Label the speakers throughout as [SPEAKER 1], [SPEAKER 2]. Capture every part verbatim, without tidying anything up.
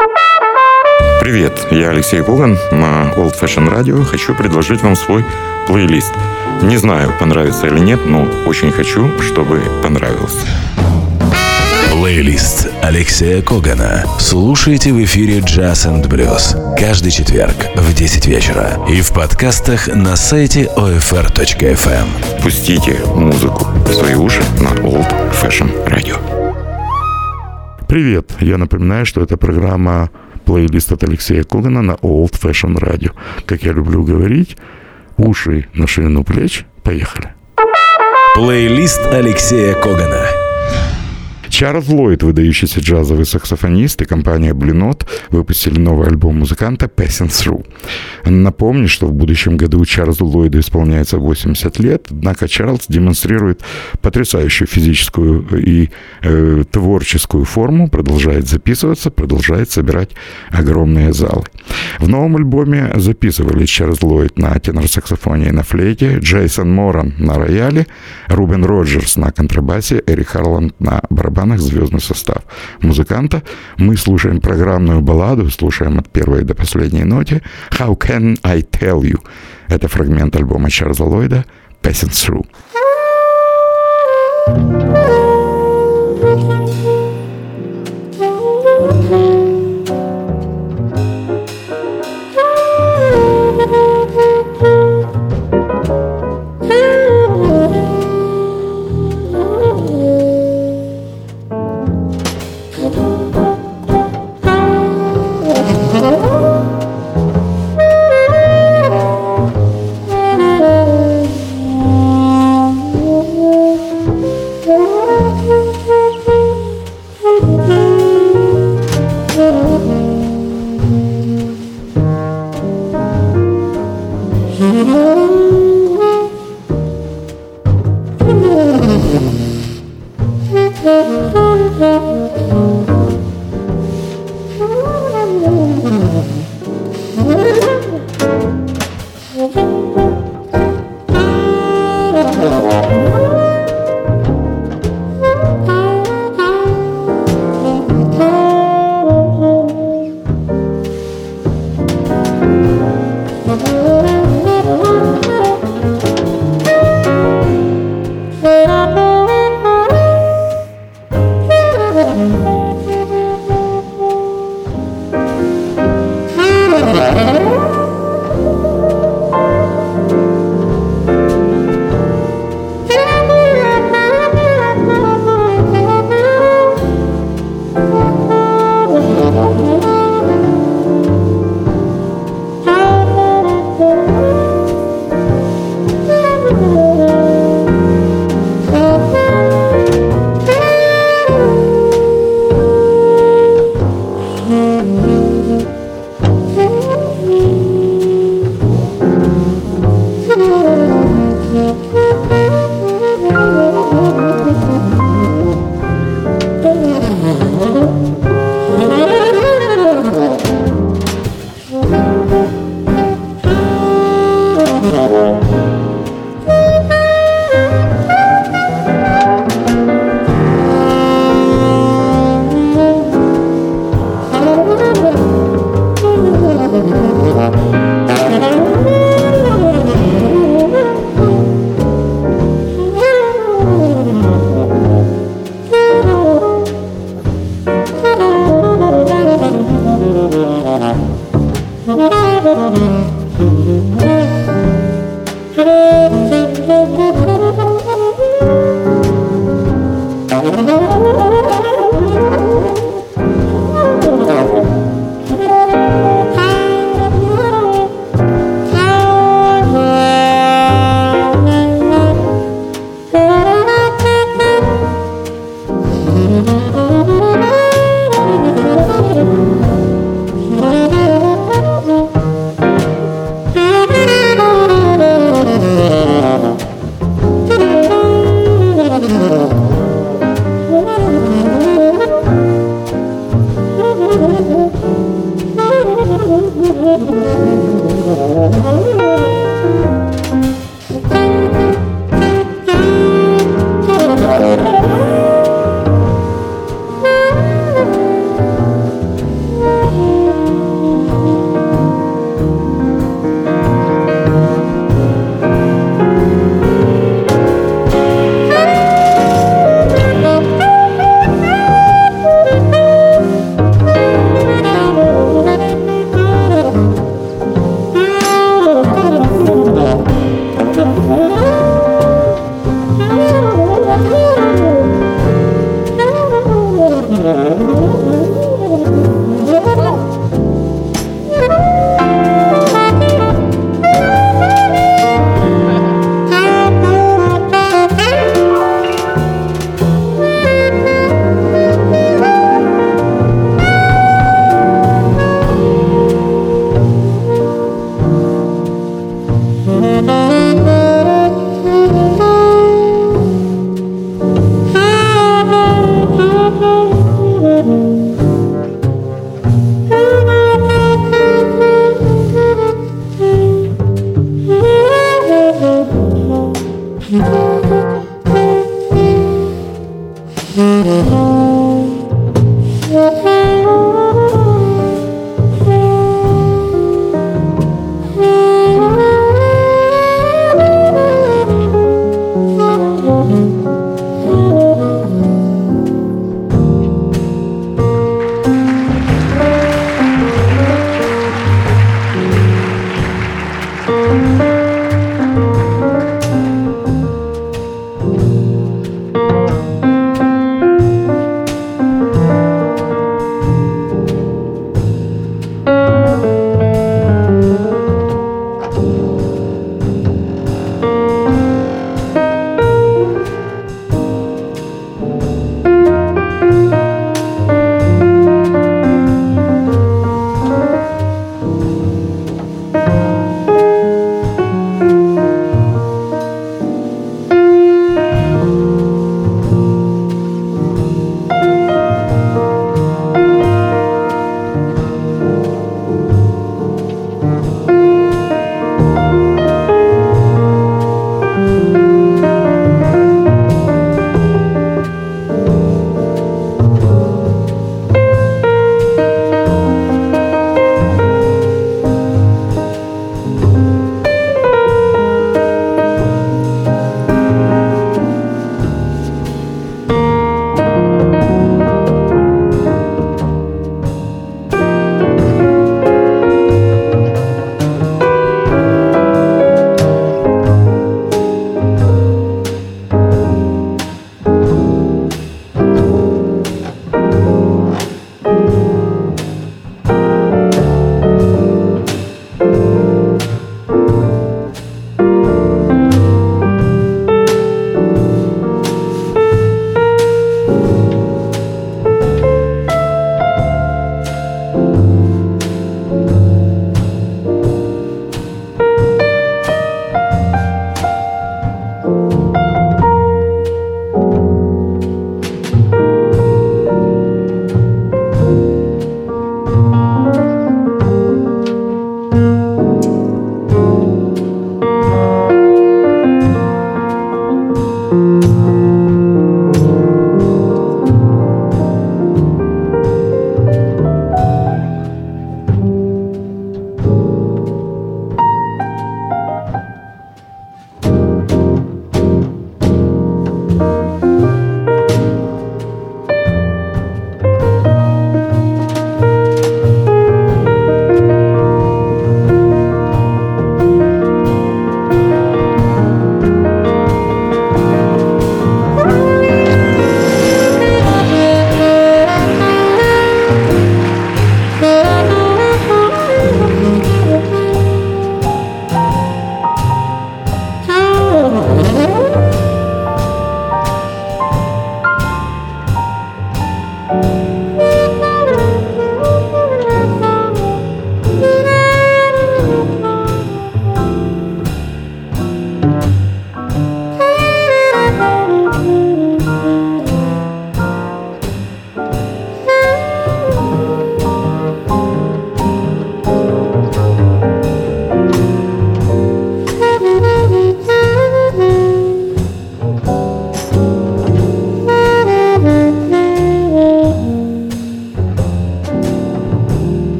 [SPEAKER 1] Привет, я Алексей Коган на Old Fashion Radio. Хочу предложить вам свой плейлист. Не знаю, понравится или нет, но очень хочу, чтобы понравился.
[SPEAKER 2] Плейлист Алексея Когана. Слушайте в эфире Jazz энд Blues каждый четверг в десять вечера и в подкастах на сайте о эф эр точка эф эм.
[SPEAKER 1] Пустите музыку в свои уши на Old Fashion Radio.
[SPEAKER 3] Привет, я напоминаю, что это программа плейлист от Алексея Когана на Old Fashion Radio. Как я люблю говорить, уши на ширину плеч. Поехали.
[SPEAKER 2] Плейлист Алексея Когана.
[SPEAKER 3] Чарльз Ллойд, выдающийся джазовый саксофонист, и компания Blue Note выпустили новый альбом музыканта «Passing Through». Напомню, что в будущем году Чарльзу Ллойду исполняется восемьдесят лет, однако Чарльз демонстрирует потрясающую физическую и э, творческую форму, продолжает записываться, продолжает собирать огромные залы. В новом альбоме записывались Чарльз Ллойд на тенор-саксофоне и на флейте, Джейсон Моран на рояле, Рубен Роджерс на контрабасе, Эрик Харланд на барабанах, звездный состав музыканта. Мы слушаем программную балладу, слушаем от первой до последней ноты «How Can I Tell You». Это фрагмент альбома Чарльза Ллойда «Passing Through».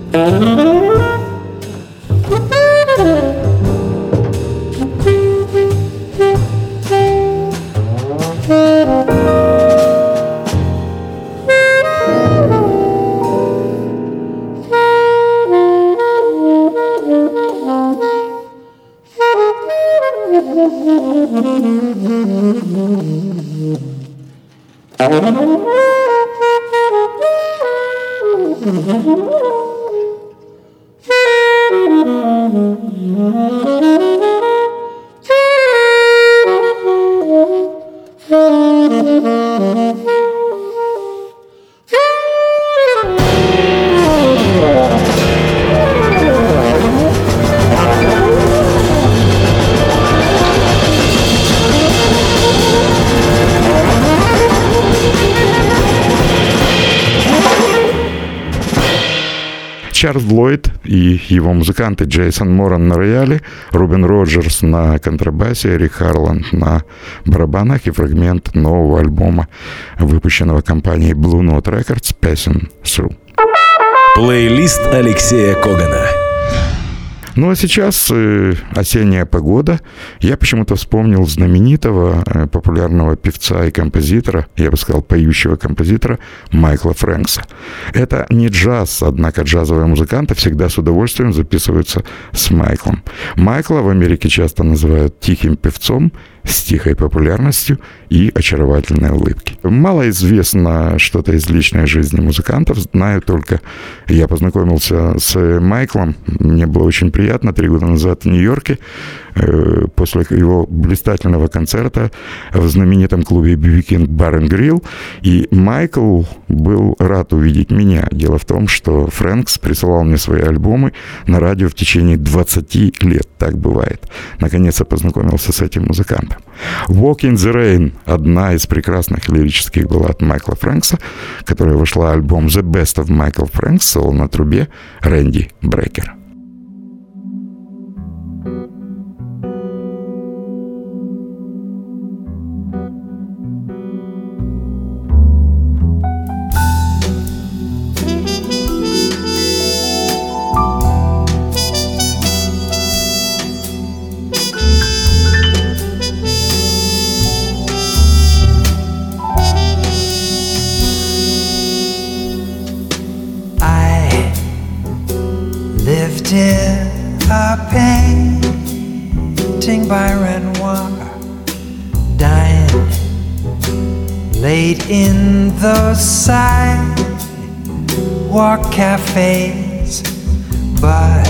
[SPEAKER 3] Чарльз Ллойд и его музыканты Джейсон Моран на рояле, Рубен Роджерс на контрабасе, Рик Харланд на барабанах и фрагмент нового альбома, выпущенного компанией Blue Note Records, Passing Through.
[SPEAKER 2] Плейлист Алексея Когана.
[SPEAKER 3] Ну а сейчас э, осенняя погода. Я почему-то вспомнил знаменитого э, популярного певца и композитора, я бы сказал, поющего композитора Майкла Фрэнкса. Это не джаз, однако джазовые музыканты всегда с удовольствием записываются с Майклом. Майкла в Америке часто называют тихим певцом с тихой популярностью и очаровательной улыбки. Мало известно что-то из личной жизни музыкантов. Знаю только, я познакомился с Майклом, мне было очень приятно три года назад в Нью-Йорке, после его блистательного концерта в знаменитом клубе би би King Bar and Grill. И Майкл был рад увидеть меня. Дело в том, что Фрэнкс присылал мне свои альбомы на радио в течение двадцати лет. Так бывает. Наконец я познакомился с этим музыкантом. «Walk in the Rain» — одна из прекрасных лирических баллад Майкла Фрэнкса, которая вошла в альбом «The Best of Michael Franks», соло на трубе Рэнди Брейкер.
[SPEAKER 4] A painting by Renoir, dying late in those sidewalk cafes. But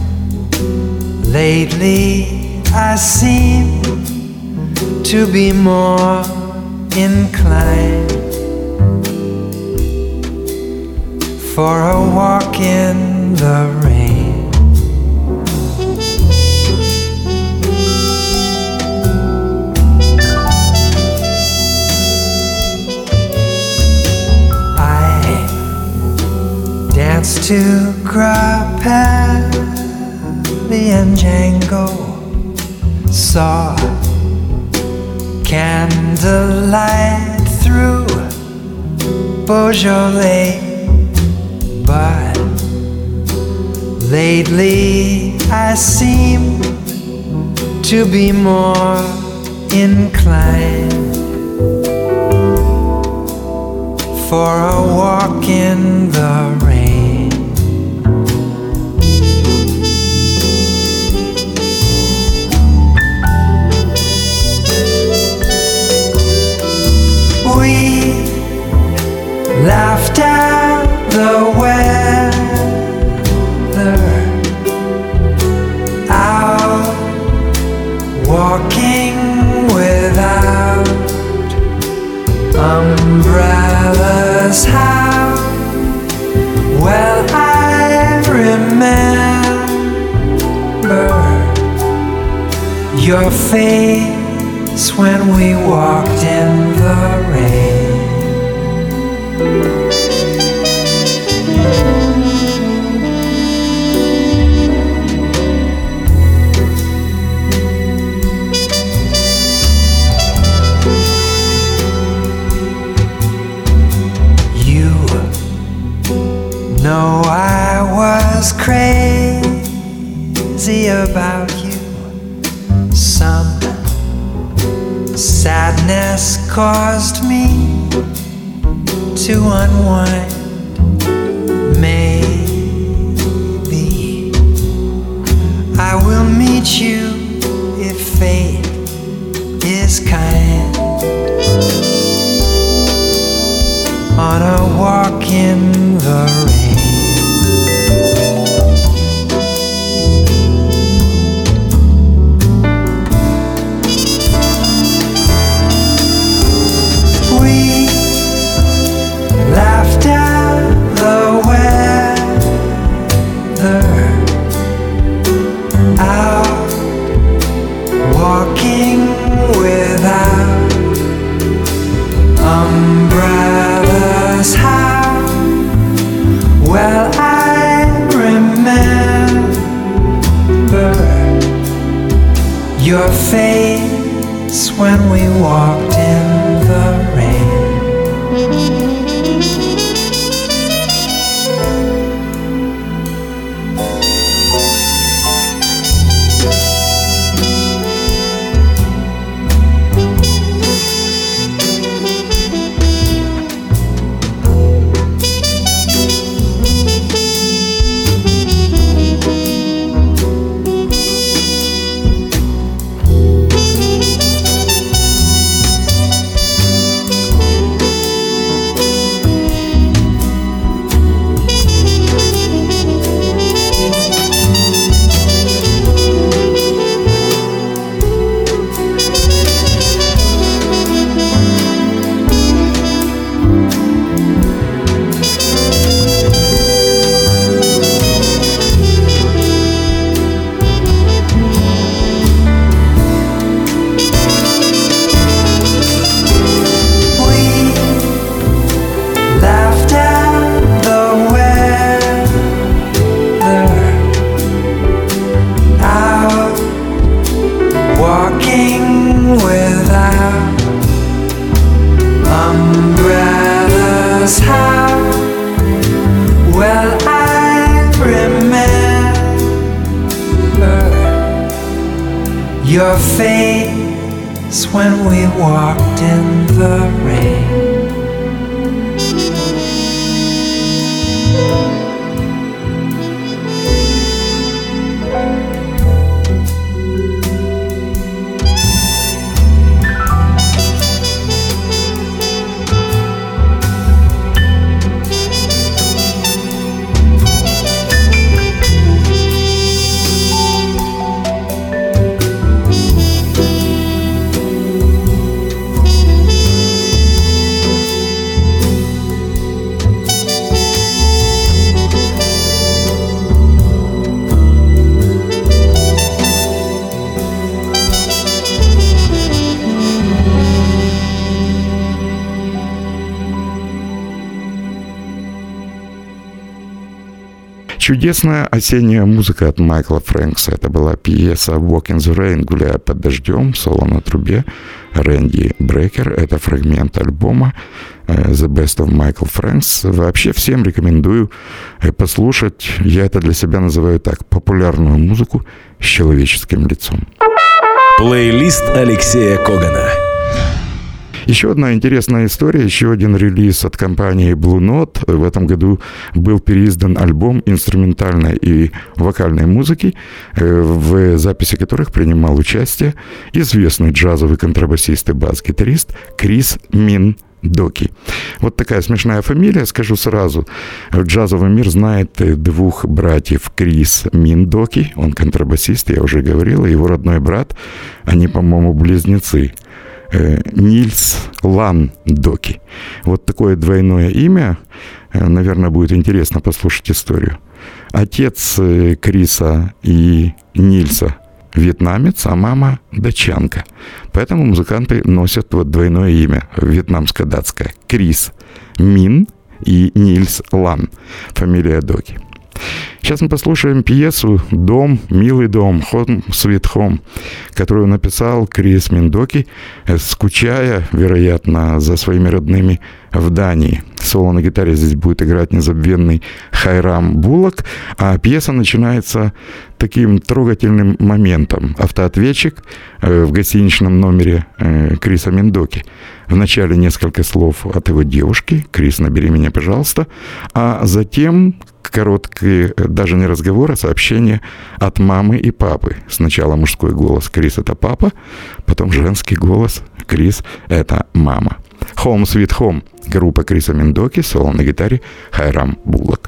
[SPEAKER 4] lately I seem to be more inclined for a walk in the rain. To Grappelli and Django, saw candlelight through Beaujolais. But lately I seem to be more inclined for a walk in the rain. We laughed at the weather, out walking without umbrellas. How well I remember your face when we walked in the rain. You know know I was crazy about you. Some sadness caused me to unwind. Maybe I will meet you if fate is kind on a walk in the rain. We laughed at the weather, out walking without umbrellas. How well I remember your face when we walked in the rain. Your face when we walked in the rain.
[SPEAKER 3] Чудесная осенняя музыка от Майкла Фрэнкса. Это была пьеса «Walk in the Rain», «Гуляя под дождем», соло на трубе, Рэнди Брейкер. Это фрагмент альбома «The Best of Michael Franks». Вообще всем рекомендую послушать, я это для себя называю так, популярную музыку с человеческим лицом.
[SPEAKER 2] Плейлист Алексея Когана.
[SPEAKER 3] Еще одна интересная история, еще один релиз от компании Blue Note. В этом году был переиздан альбом инструментальной и вокальной музыки, в записи которых принимал участие известный джазовый контрабасист и бас-гитарист Крис Мин Доки. Вот такая смешная фамилия, скажу сразу. Джазовый мир знает двух братьев Крис Мин Доки, он контрабасист, я уже говорил, и его родной брат, они, по-моему, близнецы. Нильс Лан Доки. Вот такое двойное имя. Наверное, будет интересно послушать историю. Отец Криса и Нильса вьетнамец, а мама датчанка. Поэтому музыканты носят вот двойное имя, вьетнамско-датское. Крис Мин и Нильс Лан. Фамилия Доки. Сейчас мы послушаем пьесу «Дом, милый дом», «Home, Sweet Home», которую написал Крис Миндоки, скучая, вероятно, за своими родными в Дании. Соло на гитаре здесь будет играть незабвенный Хайрам Буллок, а пьеса начинается таким трогательным моментом. Автоответчик в гостиничном номере Криса Миндоки. Вначале несколько слов от его девушки: «Крис, набери меня, пожалуйста», а затем короткий, даже не разговор, а сообщение от мамы и папы. Сначала мужской голос: «Крис, это папа», потом женский голос: «Крис, это мама». «Home, Sweet Home», группа Криса Миндоки, соло на гитаре Хайрам Буллок.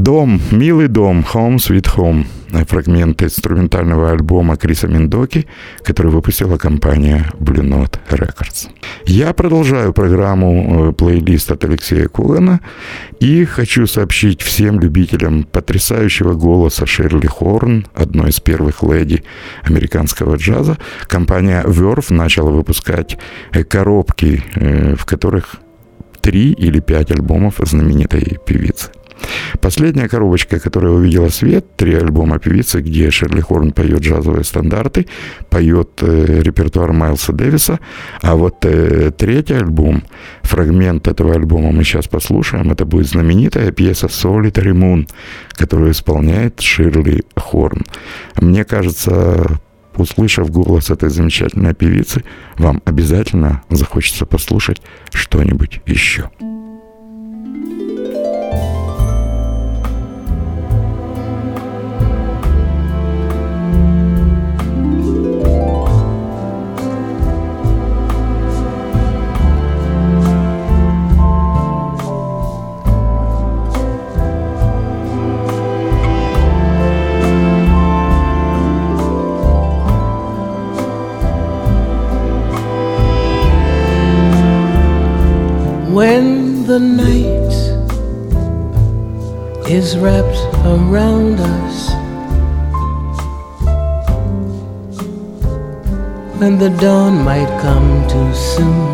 [SPEAKER 3] Дом, милый дом, Home Sweet Home. Фрагмент инструментального альбома Криса Миндоки, который выпустила компания Blue Note Records. Я продолжаю программу плейлист от Алексея Когана и хочу сообщить всем любителям потрясающего голоса Ширли Хорн, одной из первых леди американского джаза. Компания Verve начала выпускать коробки, в которых три или пять альбомов знаменитой певицы. Последняя коробочка, которая увидела свет, три альбома певицы, где Ширли Хорн поет джазовые стандарты, поет э, репертуар Майлса Дэвиса, а вот э, третий альбом, фрагмент этого альбома мы сейчас послушаем, это будет знаменитая пьеса Solitary Moon, которую исполняет Ширли Хорн. Мне кажется, услышав голос этой замечательной певицы, вам обязательно захочется послушать что-нибудь еще.
[SPEAKER 5] When the night is wrapped around us, when the dawn might come too soon,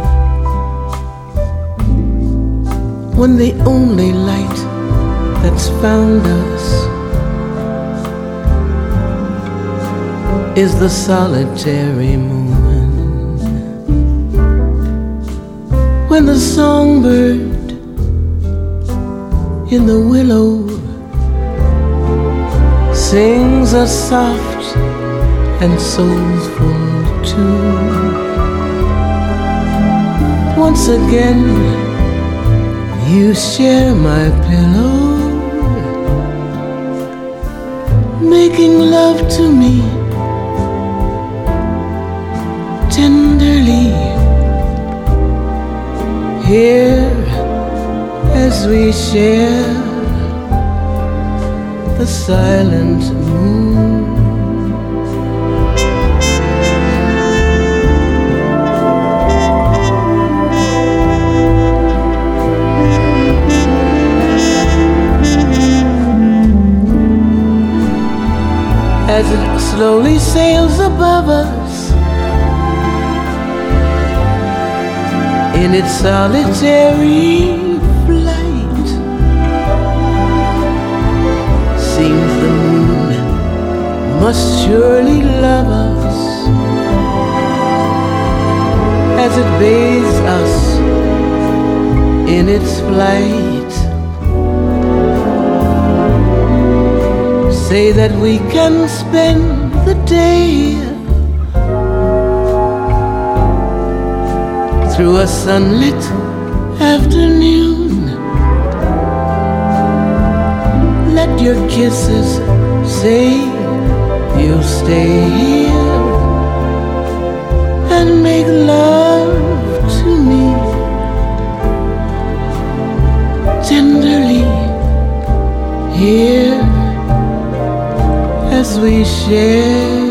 [SPEAKER 5] when the only light that's found us is the solitary moon. When the songbird in the willow sings a soft and soulful tune, once again you share my pillow, making love to me tenderly. Here, as we share the silent moon, as it slowly sails above us in its solitary flight, seems the moon must surely love us as it bathes us in its flight. Say that we can spend the day through a sunlit afternoon. Let your kisses say you'll stay here and make love to me tenderly. Here as we share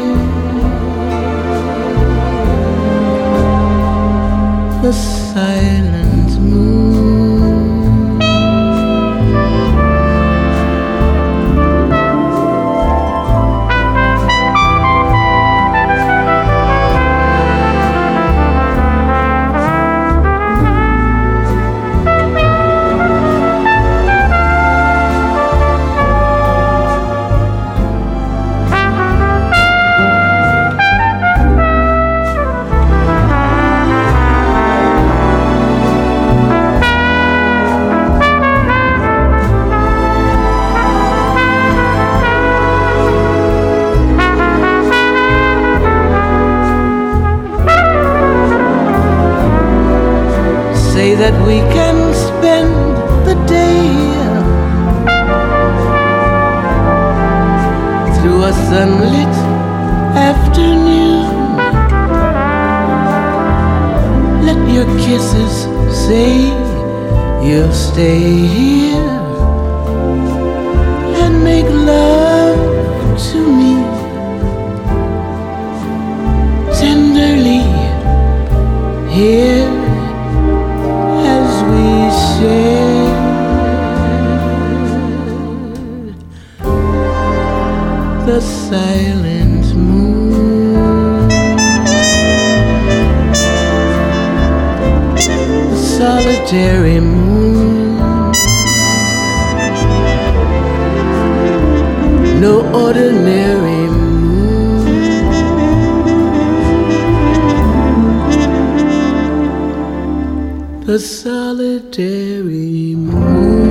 [SPEAKER 5] the silent moon. That we can spend the day through a sunlit afternoon. Let your kisses say you'll stay here the silent moon, the solitary moon, no ordinary moon, the solitary moon.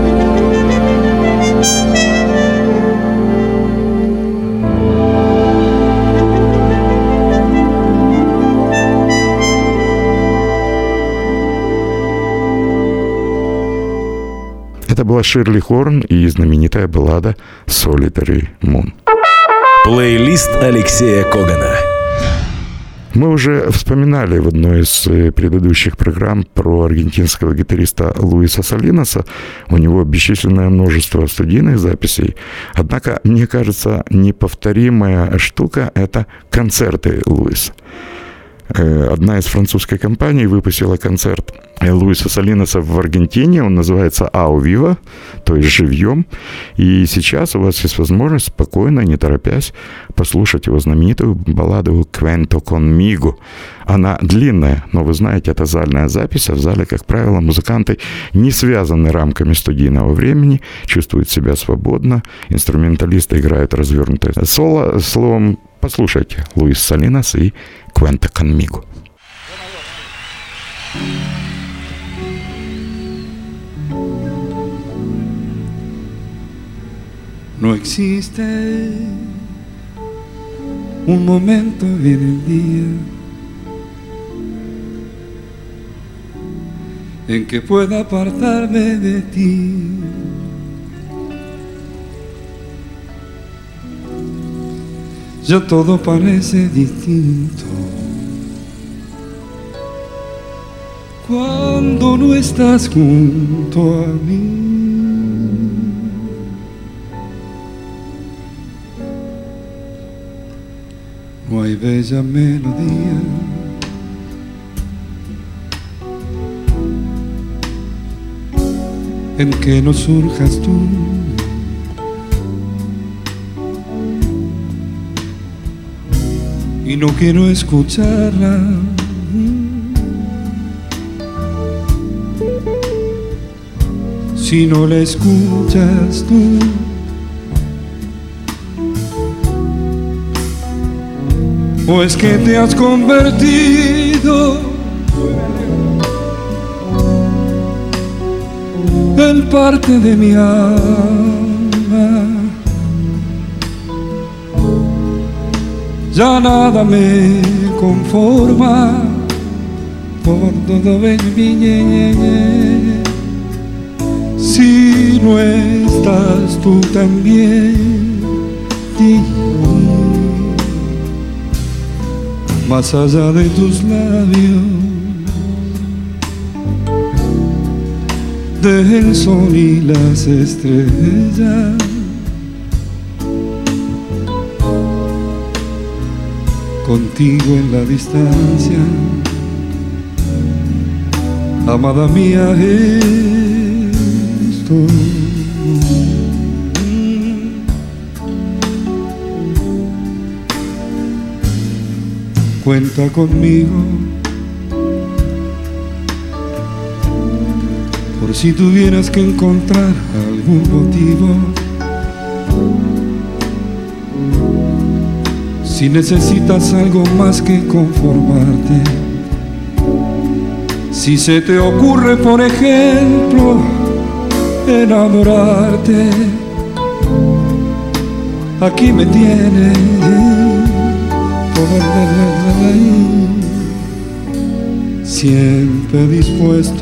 [SPEAKER 3] Это была Ширли Хорн и знаменитая баллада «Solitary Moon».
[SPEAKER 2] Плейлист Алексея Когана.
[SPEAKER 3] Мы уже вспоминали в одной из предыдущих программ про аргентинского гитариста Луиса Салинаса. У него бесчисленное множество студийных записей. Однако, мне кажется, неповторимая штука — это концерты Луиса. Одна из французской компаний выпустила концерт Луиса Салинаса в Аргентине. Он называется «Ау Вива», то есть «Живьем». И сейчас у вас есть возможность спокойно, не торопясь, послушать его знаменитую балладу «Cuento conmigo». Она длинная, но вы знаете, это зальная запись, а в зале, как правило, музыканты не связаны рамками студийного времени, чувствуют себя свободно, инструменталисты играют развернутое соло. Словом, послушайте Луис Салинас и «Cuento conmigo».
[SPEAKER 6] No existe un momento en el día en que pueda apartarme de ti. Ya todo parece distinto cuando no estás junto a mí. No hay bella melodía en que no surjas tú, y no quiero escucharla. Si no la escuchas tú, o es que te has convertido en parte de mi alma. Ya nada me conforma, por todo ven si no estás tú también. Más allá de tus labios, del sol y las estrellas, contigo en la distancia, amada mía, estoy. Cuenta conmigo por si tuvieras que encontrar algún motivo, si necesitas algo más que conformarte, si se te ocurre, por ejemplo, enamorarte, aquí me tienes. Siempre dispuesto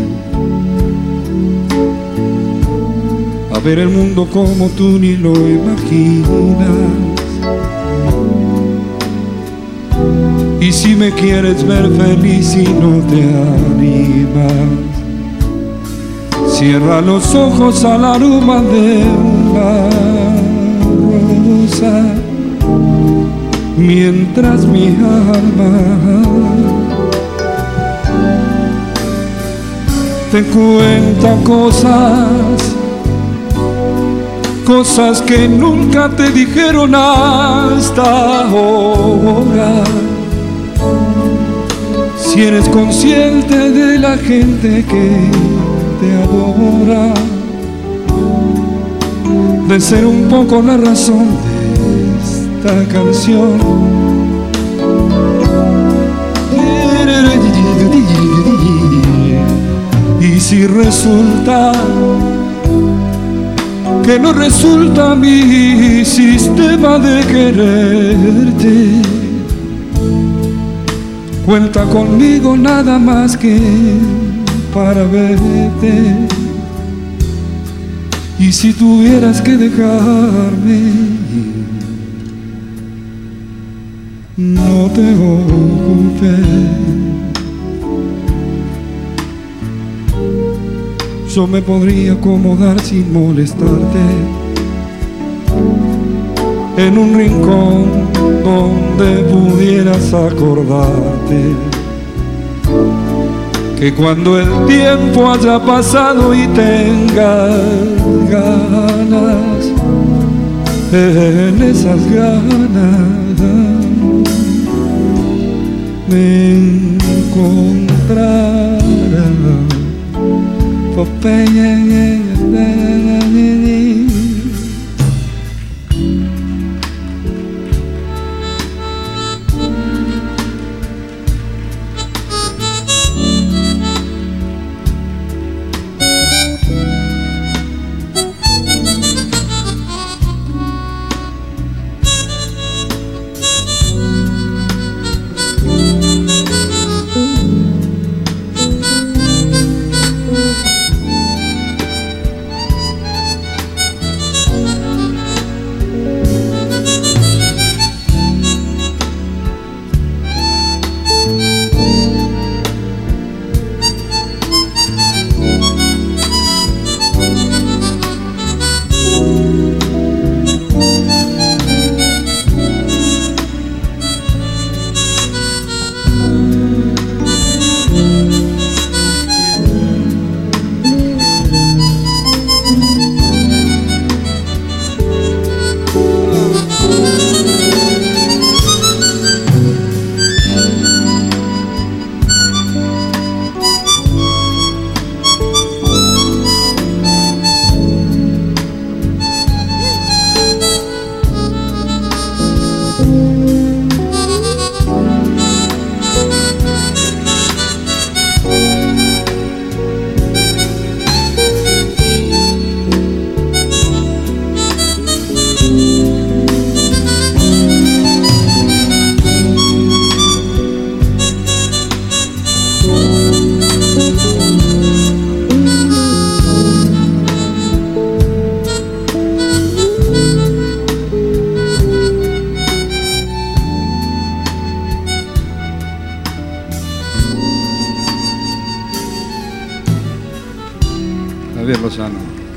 [SPEAKER 6] a ver el mundo como tú ni lo imaginas. Y si me quieres ver feliz y no te animas, cierra los ojos al aroma de una rosa, mientras mi alma te cuenta cosas cosas que nunca te dijeron hasta ahora. Si eres consciente de la gente que te adora, de ser un poco la razón de esta canción. Y si resulta que no resulta mi sistema de quererte, cuenta conmigo nada más que para verte. Y si tuvieras que dejarme, no te ocupes, yo me podría acomodar sin molestarte en un rincón donde pudieras acordarte que cuando el tiempo haya pasado y tengas ganas, en esas ganas me encontrarás. Javier Lozano.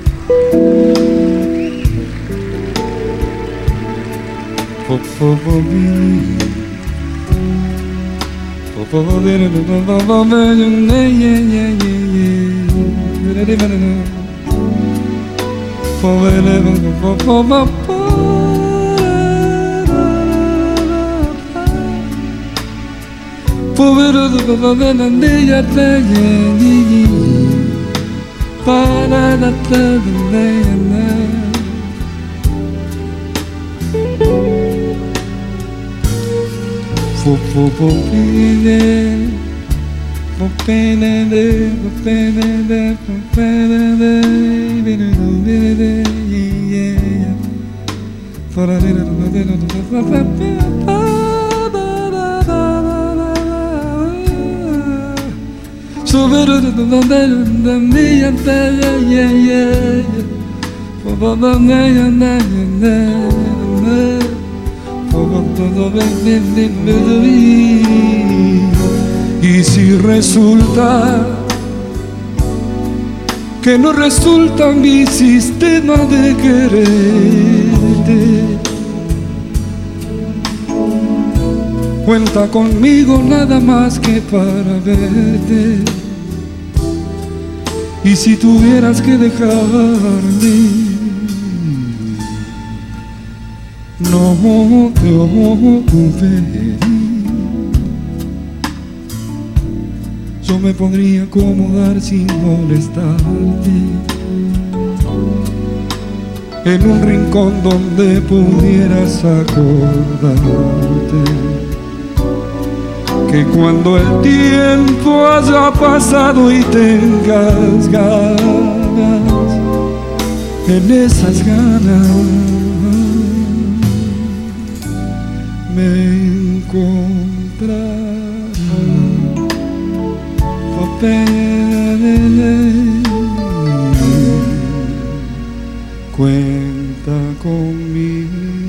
[SPEAKER 6] Y si resulta que no resulta mi sistema de quererte, cuenta conmigo nada más que para verte. Y si tuvieras que dejarme, no te yo me podría acomodar sin molestarte en un rincón donde pudieras acordarte que cuando el tiempo haya pasado y tengas ganas, en esas ganas me encontrarás. Cuenta conmigo.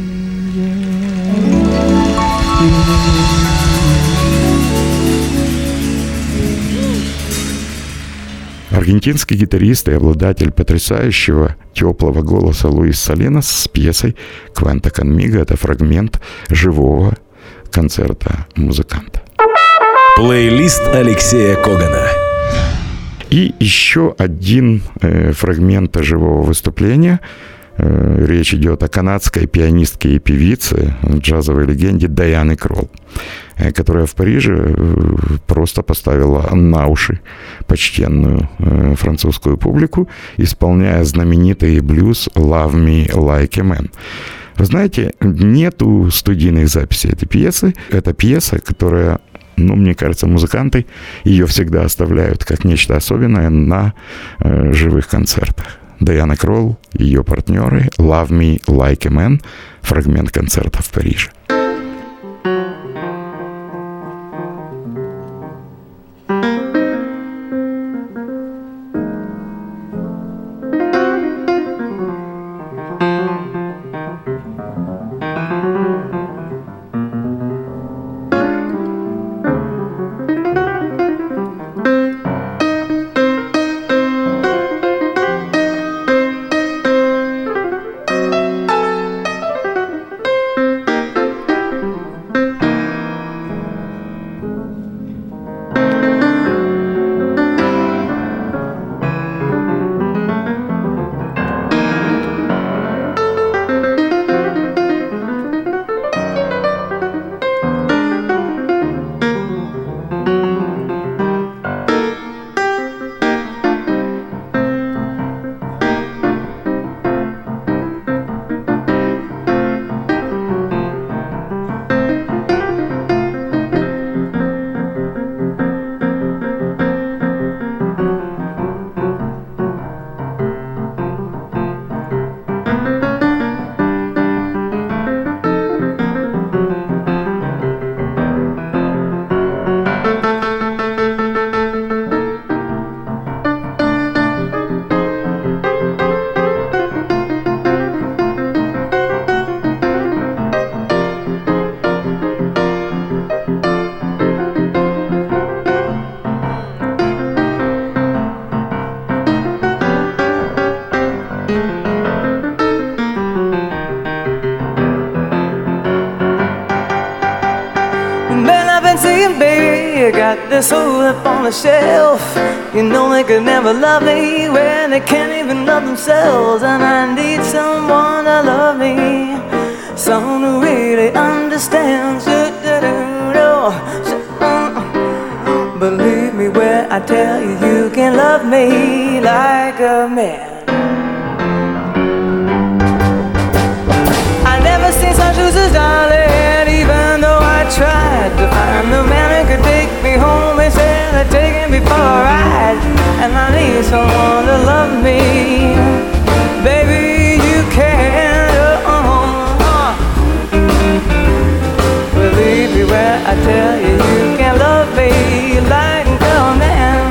[SPEAKER 3] Аргентинский гитарист и обладатель потрясающего теплого голоса Луис Саленос с пьесой «Cuenta conmigo» — это фрагмент живого концерта музыканта.
[SPEAKER 2] Плейлист Алексея Когана.
[SPEAKER 3] И еще один э, фрагмент живого выступления. Э, речь идет о канадской пианистке и певице, джазовой легенде Дайане Кролл, э, которая в Париже э, просто поставила на уши почтенную э, французскую публику, исполняя знаменитый блюз «Love Me Like a Man». Вы знаете, нету студийных записей этой пьесы. Это пьеса, которая... Ну, мне кажется, музыканты ее всегда оставляют как нечто особенное на э, живых концертах. Дайана Кролл, ее партнеры, «Love Me Like a Man», фрагмент концерта в Париже.
[SPEAKER 5] Got this hole up on the shelf. You know they could never love me when they can't even love themselves. And I need someone to love me, someone who really understands. Believe me when I tell you, you can love me like a man. I never seen such shoes as darling, even though I tried to find the man who could take me home. They said they're taking me for a ride, and I need someone to love me. Baby, you can. Uh, uh. Believe me when I tell you, you can love me like a man.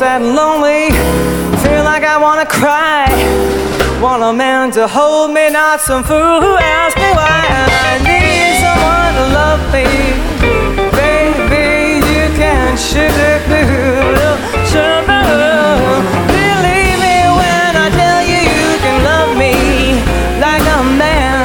[SPEAKER 5] sad and lonely, feel like I wanna cry. Want a man to hold me, not some fool who asks me why. And I need someone to love me. Baby, you can sugar glue, sugar. Believe me when I tell you you can love me like a man.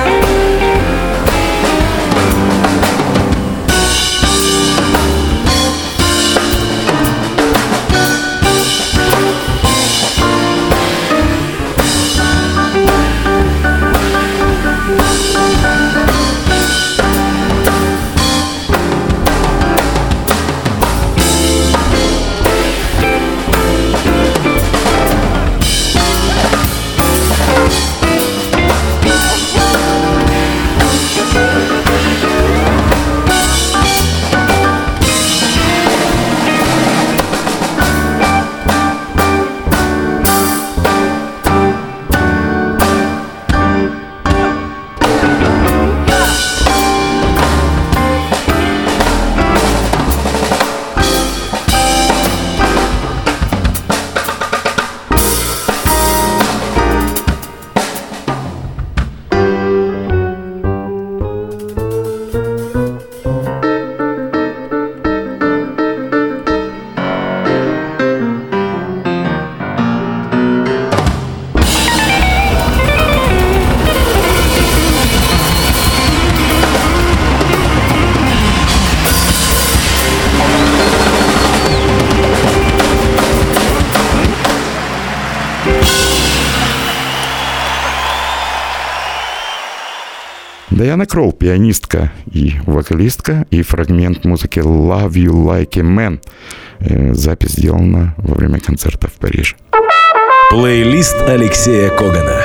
[SPEAKER 3] Дайана Кролл, пианистка и вокалистка, и фрагмент музыки «Love You Like a Man». Запись сделана во время концерта в Париже.
[SPEAKER 2] Плейлист Алексея Когана.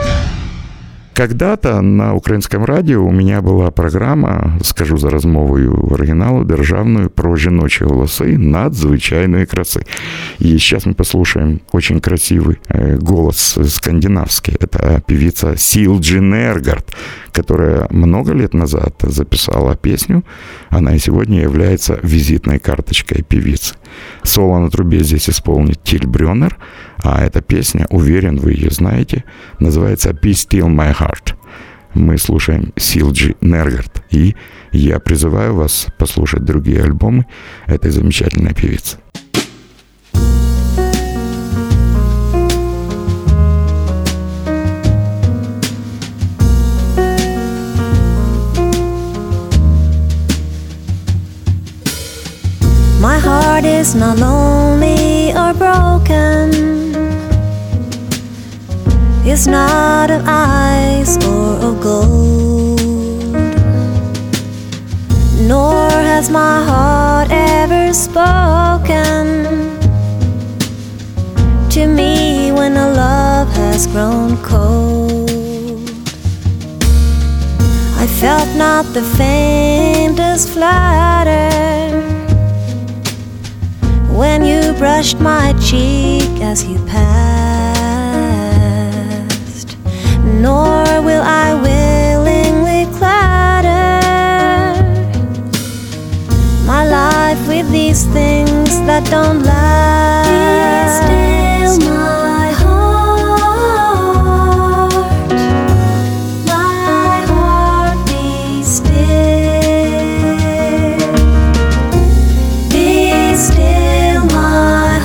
[SPEAKER 3] Когда-то на українському радіо у мене була програма, скажу зараз мовою оригіналу, державною, про жіночі голоси надзвичайної краси. И сейчас мы послушаем очень красивый голос скандинавский. Это певица Силджи Нергард, которая много лет назад записала песню. Она и сегодня является визитной карточкой певицы. Соло на трубе здесь исполнит Тиль Брёнер, а эта песня, уверен, вы ее знаете, называется «Be Still My Heart». Мы слушаем Силджи Нергард, и я призываю вас послушать другие альбомы этой замечательной певицы.
[SPEAKER 7] My heart is not lonely or broken. It's not of ice or of gold. Nor has my heart ever spoken to me when a love has grown cold. I felt not the faintest flutter when you brushed my cheek as you passed, nor will I willingly clatter my life with these things that don't last. Be still my heart, my heart be still. Be still my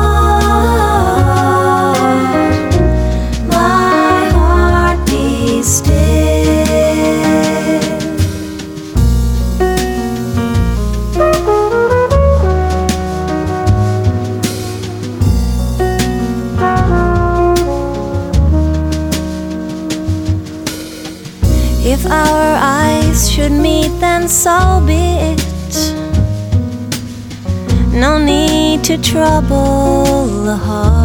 [SPEAKER 7] heart, my heart be still. If our eyes should meet, then so be it. No need to trouble a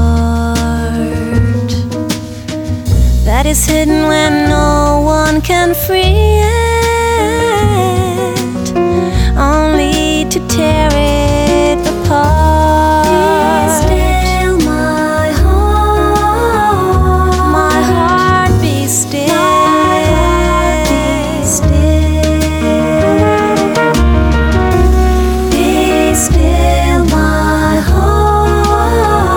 [SPEAKER 7] heart that is hidden when no one can free it, only to tear it apart. Be still my heart, my heart be still. Be still my heart,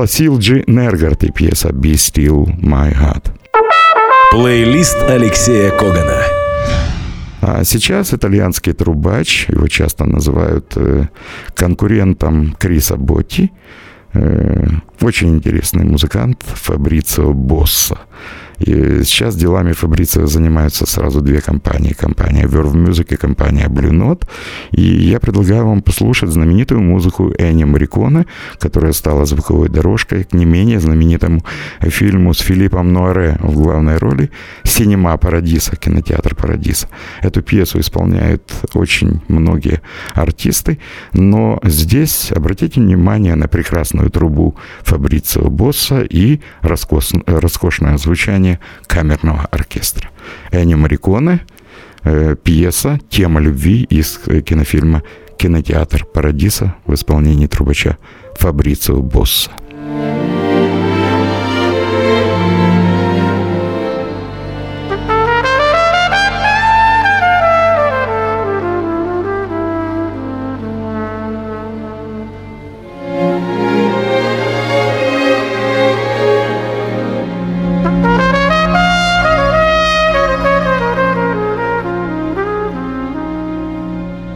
[SPEAKER 3] Ласил Джи Нергарт и пьеса «Be Still My Heart».
[SPEAKER 2] Плейлист Алексея Когана.
[SPEAKER 3] А сейчас итальянский трубач, его часто называют э, конкурентом Криса Ботти, э, очень интересный музыкант Фабрицио Босса. И сейчас делами Фабрицио занимаются сразу две компании. Компания Verve Music и компания Blue Note. И я предлагаю вам послушать знаменитую музыку Энни Морриконе, которая стала звуковой дорожкой к не менее знаменитому фильму с Филиппом Нуаре в главной роли «Синема Парадиса», кинотеатр Парадиса. Эту пьесу исполняют очень многие артисты, но здесь обратите внимание на прекрасную трубу Фабрицио Босса и роскос... роскошное звучание камерного оркестра. Энни Морриконе, э, пьеса «Тема любви» из кинофильма «Кинотеатр Парадиса» в исполнении трубача Фабрицио Босса.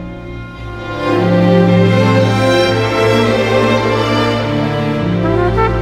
[SPEAKER 8] Thank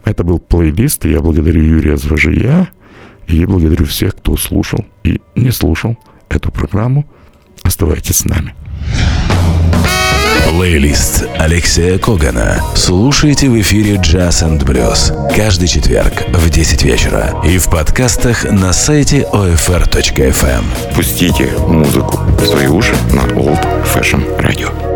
[SPEAKER 3] Это был плейлист, и я благодарю Юрия Зважия, и благодарю всех, кто слушал и не слушал эту программу. Оставайтесь с нами.
[SPEAKER 2] Плейлист Алексея Когана слушайте в эфире Jazz энд Blues каждый четверг в десять вечера и в подкастах на сайте о эф эр точка эф эм.
[SPEAKER 1] Пустите музыку в свои уши на Old Fashion Radio.